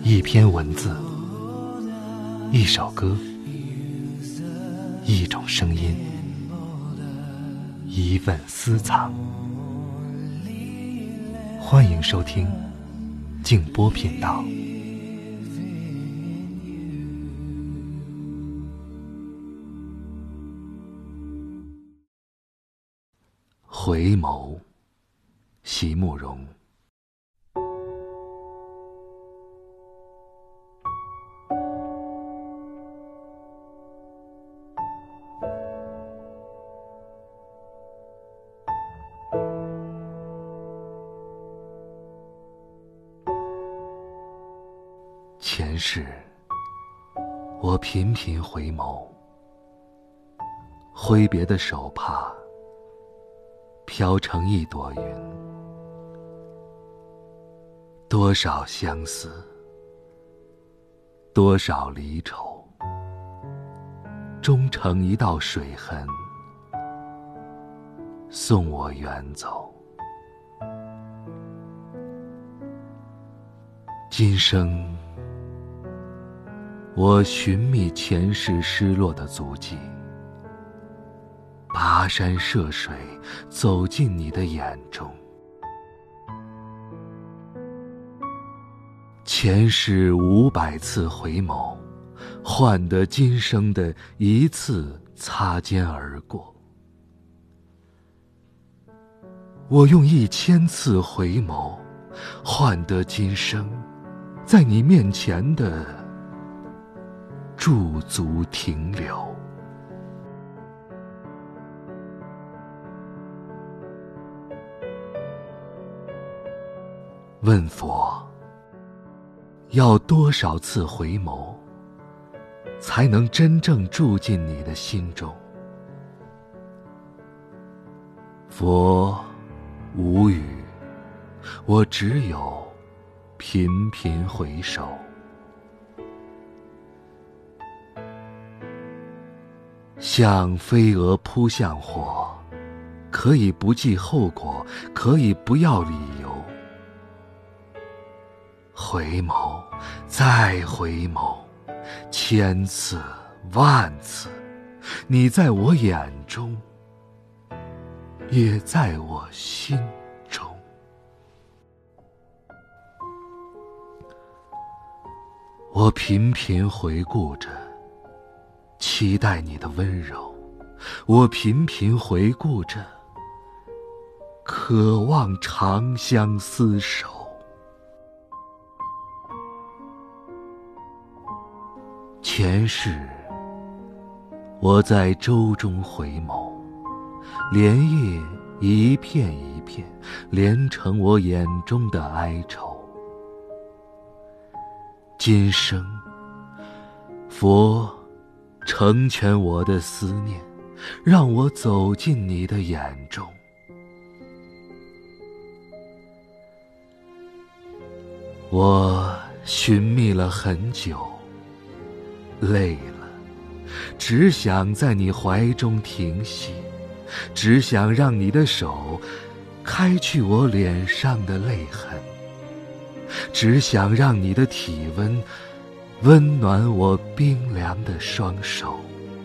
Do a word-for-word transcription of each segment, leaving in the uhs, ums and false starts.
一篇文字，一首歌，一种声音，一份私藏。欢迎收听静波频道。回眸，席慕容。前世，我频频回眸，挥别的手帕飘成一朵云，多少相思，多少离愁，终成一道水痕，送我远走。今生，我寻觅前世失落的足迹，跋山涉水，走进你的眼中。前世五百次回眸，换得今生的一次擦肩而过。我用一千次回眸，换得今生在你面前的驻足停留。问佛，要多少次回眸，才能真正住进你的心中？佛无语，我只有频频回首。像飞蛾扑向火，可以不计后果，可以不要理由。回眸，再回眸，千次万次，你在我眼中，也在我心中。我频频回顾着，期待你的温柔，我频频回顾着，渴望长相厮守。前世，我在舟中回眸，莲叶一片一片，连成我眼中的哀愁。今生，佛成全我的思念，让我走进你的眼中。我寻觅了很久，累了，只想在你怀中停息，只想让你的手开去我脸上的泪痕，只想让你的体温温暖我冰凉的双手。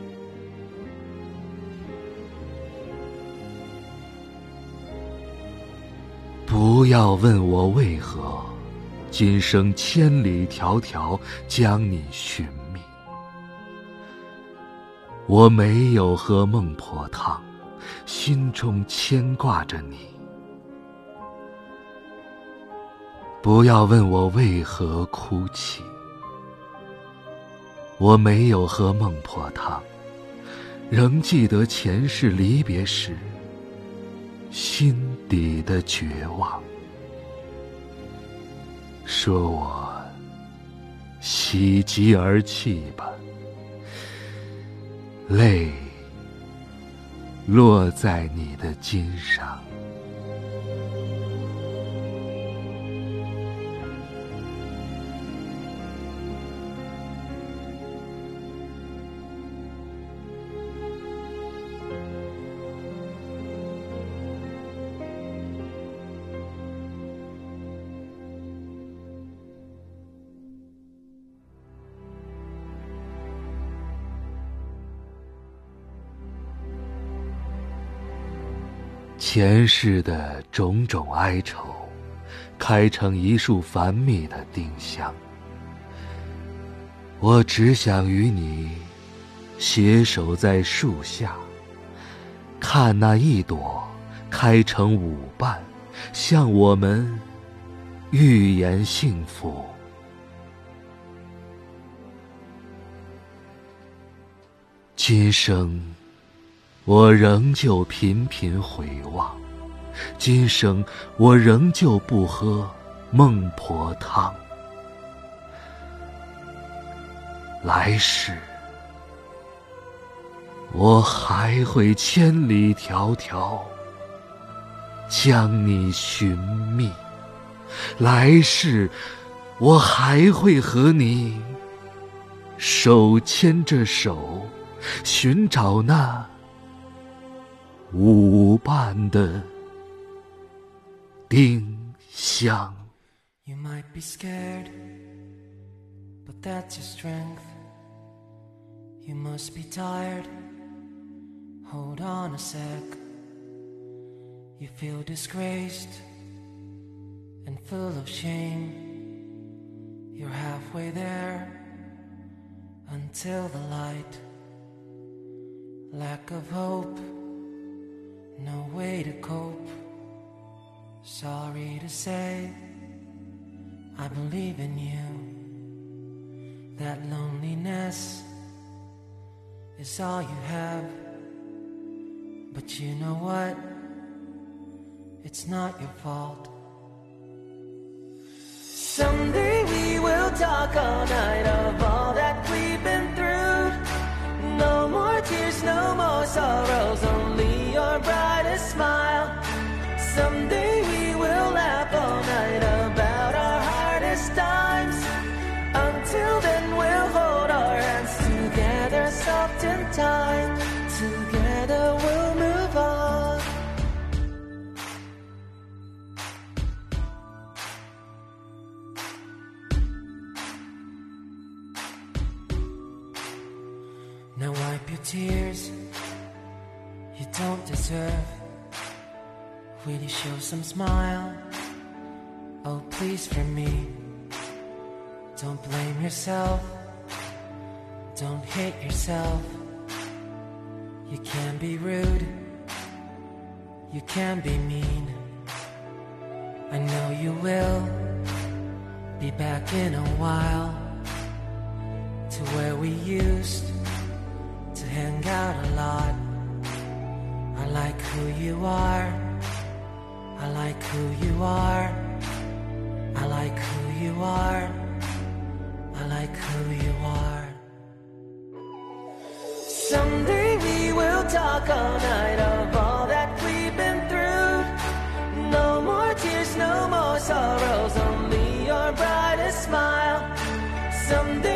不要问我为何今生千里迢迢将你寻觅，我没有喝孟婆汤，心中牵挂着你。不要问我为何哭泣，我没有喝孟婆汤，仍记得前世离别时心底的绝望。说我喜极而泣吧，泪落在你的襟上。 前世的种种哀愁，开成一束繁密的丁香。我只想与你携手在树下，看那一朵开成舞瓣，向我们预言幸福。今生我仍旧频频回望，今生我仍旧不喝孟婆汤。来世我还会千里迢迢将你寻觅，来世我还会和你手牵着手，寻找那舞伴的丁香。 You might be scared, but that's your strength. You must be tired, hold on a sec. You feel disgraced and full of shame. You're halfway there until the light. Lack of hope, no way to cope. Sorry to say, I believe in you. That loneliness is all you have. But you know what? It's not your fault. Someday we will talk all night of all that we've been through. No more tears, no more sorrows, only your brightest smile. Someday we will laugh all night about our hardest times. Until then we'll hold our hands together soft in time. Together we'll move on. Now wipe your tears, you don't deserve. Will you show some smile? Oh, please, for me. Don't blame yourself, don't hate yourself. You can be rude, you can be mean. I know you will be back in a while to where we used to hang out a lot. I like who you are, I like who you are, I like who you are, I like who you are. Someday we will talk all night of all that we've been through. No more tears, no more sorrows, only your brightest smile. Someday